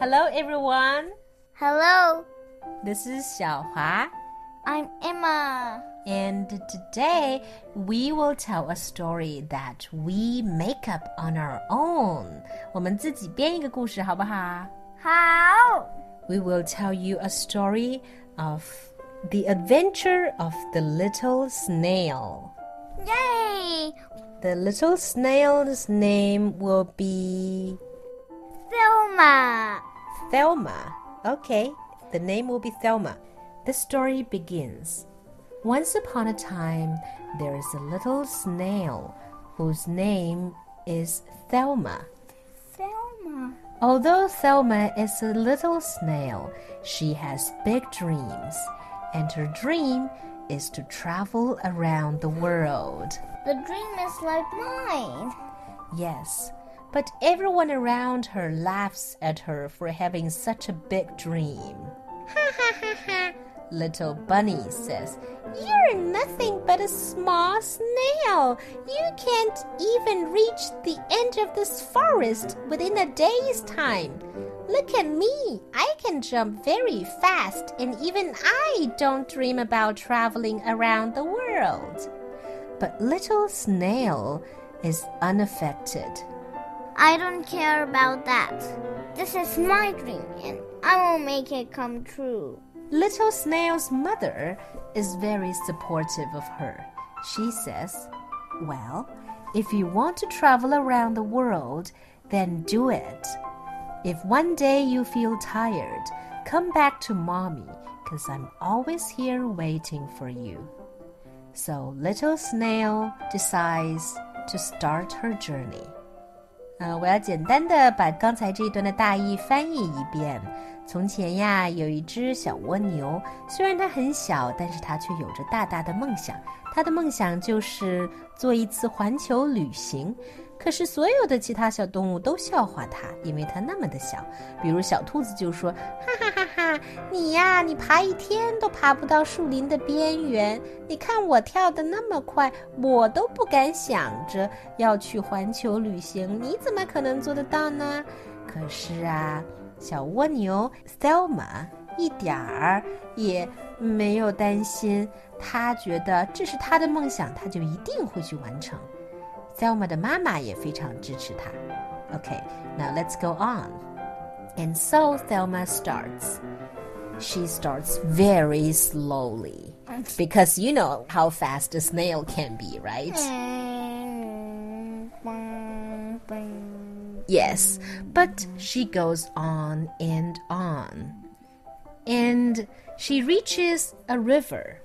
Hello, everyone. Hello. This is Xiaohua. I'm Emma. And today, we will tell a story that we make up on our own. 我们自己编一个故事，好不好？ 好。 We will tell you a story of the adventure of the little snail. Yay! The little snail's name will be Thelma. Thelma. Okay, the name will be Thelma. The story begins. Once upon a time, there is a little snail whose name is Thelma. Thelma. Although Thelma is a little snail, she has big dreams, and her dream is to travel around the world. The dream is like mine. Yes, but everyone around her laughs at her for having such a big dream. Ha ha ha ha, Little Bunny says, "You're nothing but a small snail. You can't even reach the end of this forest within a day's time. Look at me. I can jump very fast, and even I don't dream about traveling around the world." But Little Snail is unaffected. I don't care about that. This is my dream, and I will make it come true. Little Snail's mother is very supportive of her. She says, "Well, if you want to travel around the world, then do it. If one day you feel tired, come back to Mommy, 'cause I'm always here waiting for you." So Little Snail decides to start her journey. 我要简单的把刚才这一段的大意翻译一遍。从前呀，有一只小蜗牛，虽然它很小，但是它却有着大大的梦想。它的梦想就是做一次环球旅行。可是所有的其他小动物都笑话它，因为它那么的小。比如小兔子就说：“哈哈哈哈，你呀，你爬一天都爬不到树林的边缘。你看我跳得那么快，我都不敢想着要去环球旅行，你怎么可能做得到呢？”可是啊，小蜗牛 Thelma 一点儿也没有担心，她觉得这是她的梦想，她就一定会去完成。Thelma 的妈妈也非常支持她。Okay, now let's go on. And so Thelma starts. She starts very slowly because you know how fast a snail can be, right? Yes, but she goes on and on. And she reaches a river.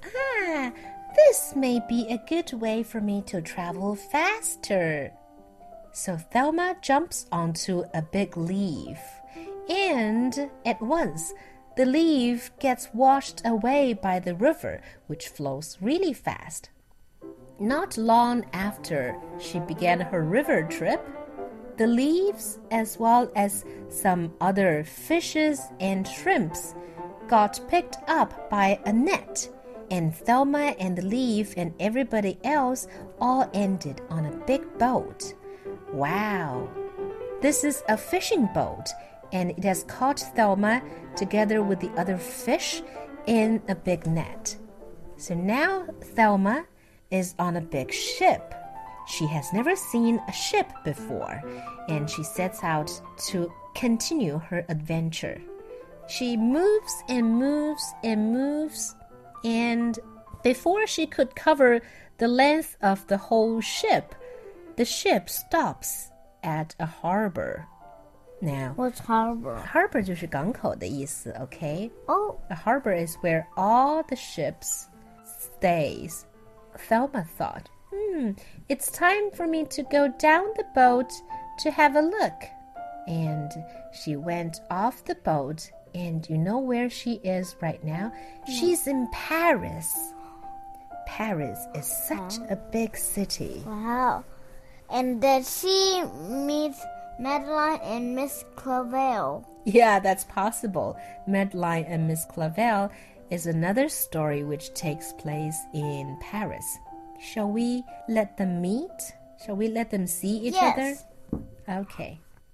This may be a good way for me to travel faster. So Thelma jumps onto a big leaf, and at once the leaf gets washed away by the river, which flows really fast. Not long after she began her river trip, the leaves, as well as some other fishes and shrimps, got picked up by a net.And Thelma and the leaf and everybody else all ended on a big boat. Wow! This is a fishing boat, and it has caught Thelma together with the other fish in a big net. So now Thelma is on a big ship. She has never seen a ship before, and she sets out to continue her adventure. She moves and moves and moves.And before she could cover the length of the whole ship, the ship stops at a harbor. Now, what's harbor? Harbor 就是港口的意思 okay? Oh. A harbor is where all the ships stays. Thelma thought, it's time for me to go down the boat to have a look. And she went off the boat.And you know where she is right now? She's in Paris. Paris is such a big city. Wow. And did she meet Madeline and Miss Clavel? Yeah, that's possible. Madeline and Miss Clavel is another story which takes place in Paris. Shall we let them meet? Shall we let them see each other? Yes. Okay.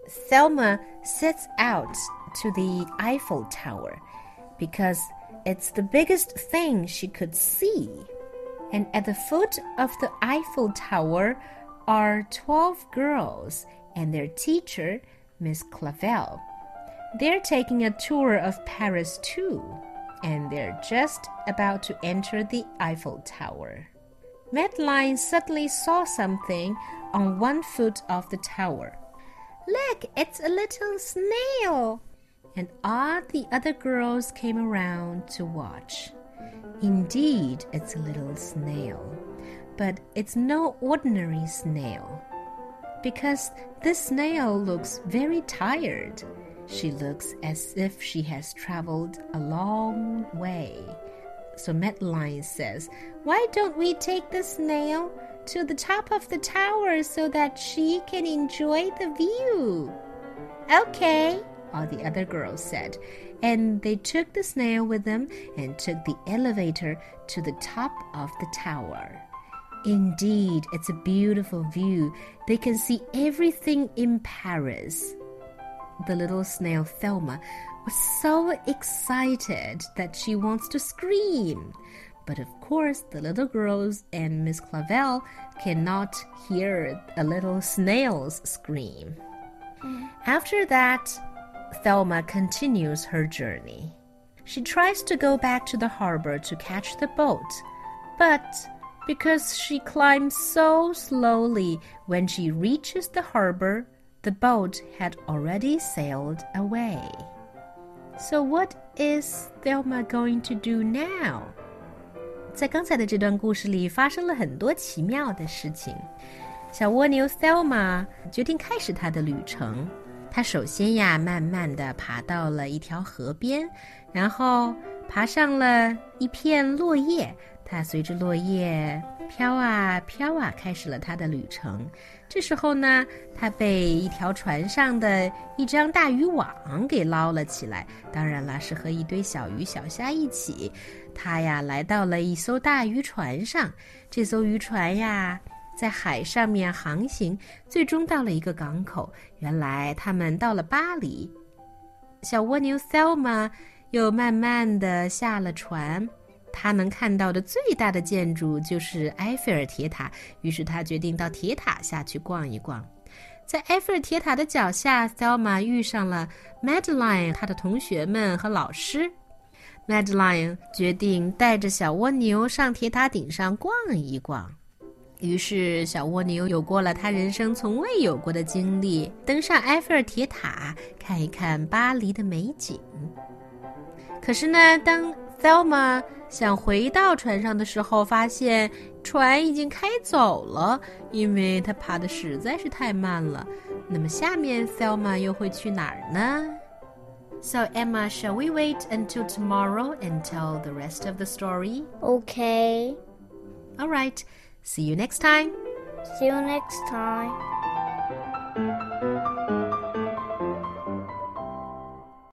Thelma sets out to the Eiffel Tower because it's the biggest thing she could see. And at the foot of the Eiffel Tower are 12 girls and their teacher, Miss Clavel. They're taking a tour of Paris too, and they're just about to enter the Eiffel Tower. Madeline suddenly saw something on one foot of the tower. Look, it's a little snail! And all the other girls came around to watch. Indeed, it's a little snail, but it's no ordinary snail, because this snail looks very tired. She looks as if she has traveled a long way. So Madeline says, why don't we take the snail to the top of the tower so that she can enjoy the view? Okay, all the other girls said, and they took the snail with them and took the elevator to the top of the tower. Indeed, it's a beautiful view. They can see everything in Paris. The little snail Thelma was so excited that she wants to scream. But of course, the little girls and Miss Clavel cannot hear a little snail's scream. After that, Thelma continues her journey. She tries to go back to the harbor to catch the boat, but because she climbs so slowly, when she reaches the harbor, the boat had already sailed away. So what is Thelma going to do now? 在刚才的这段故事里发生了很多奇妙的事情。小蜗牛 Thelma 决定开始她的旅程。她首先呀，慢慢地爬到了一条河边，然后爬上了一片落叶。她随着落叶飘啊飘啊，开始了她的旅程。这时候呢，她被一条船上的一张大渔网给捞了起来，当然啦，是和一堆小鱼小虾一起。她呀，来到了一艘大渔船上，这艘渔船呀，在海上面航行，最终到了一个港口。原来他们到了巴黎。小蜗牛 Thelma 又慢慢地下了船，他能看到的最大的建筑就是埃菲尔铁塔，于是他决定到铁塔下去逛一逛。在埃菲尔铁塔的脚下 Thelma 遇上了 Madeline 她的同学们和老师。Madeline 决定带着小蜗牛上铁塔顶上逛一逛，于是小蜗牛有过了他人生从未有过的经历，登上埃菲尔铁塔看一看巴黎的美景。可是呢，当 Thelma 想回到船上的时候，发现船已经开走了，因为她爬得实在是太慢了。那么下面 Thelma 又会去哪儿呢？ So Emma, shall we wait until tomorrow and tell the rest of the story? Okay. All right. See you next time. See you next time.